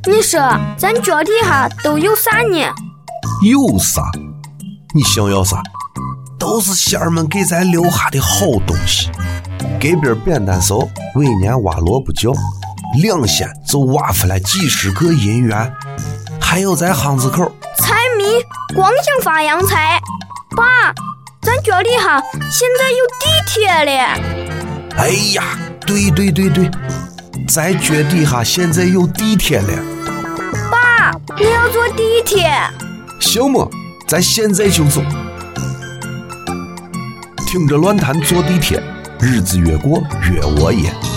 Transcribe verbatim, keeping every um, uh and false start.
你说咱脚底下都有啥呢？ 有啥？你想要啥？都是仙儿们给咱留下的好东西。隔壁扁担嫂每年挖萝卜窖，两仙就挖出来几十个银元。还有在巷子口财迷光想发洋财。爸，咱脚底下现在有地铁了。 哎呀，对对对对，在脚底下现在有地铁了。 爸，你要坐地铁？ 行吗？咱现在就走。听着乱谈坐地铁，日子越过越我也。